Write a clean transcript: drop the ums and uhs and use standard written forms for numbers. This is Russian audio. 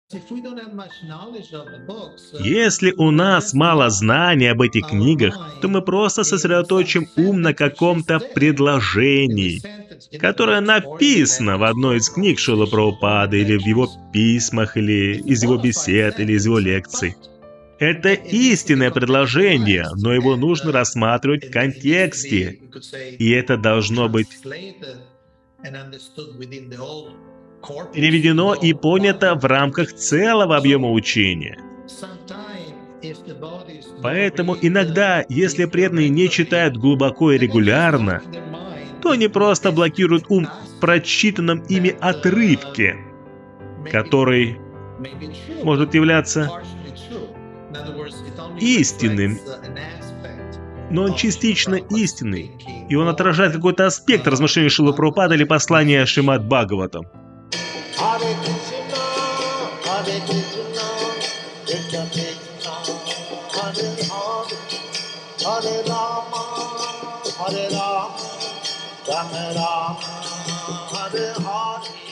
Если у нас мало знаний об этих книгах, то мы просто сосредоточим ум на каком-то предложении, которое написано в одной из книг Шрилы Прабхупады, или в его письмах, или из его бесед, или из его лекций. Это истинное предложение, но его нужно рассматривать в контексте, и это должно быть переведено и понято в рамках целого объема учения. Поэтому иногда, если преданные не читают глубоко и регулярно, то они просто блокируют ум в прочитанном ими отрывке, который может являться истинным, но он частично истинный, и он отражает какой-то аспект размышлений Шрилы Прабхупады или послания Шримад Бхагаватам. Hare Rama, Rama Rama, Hare Hare.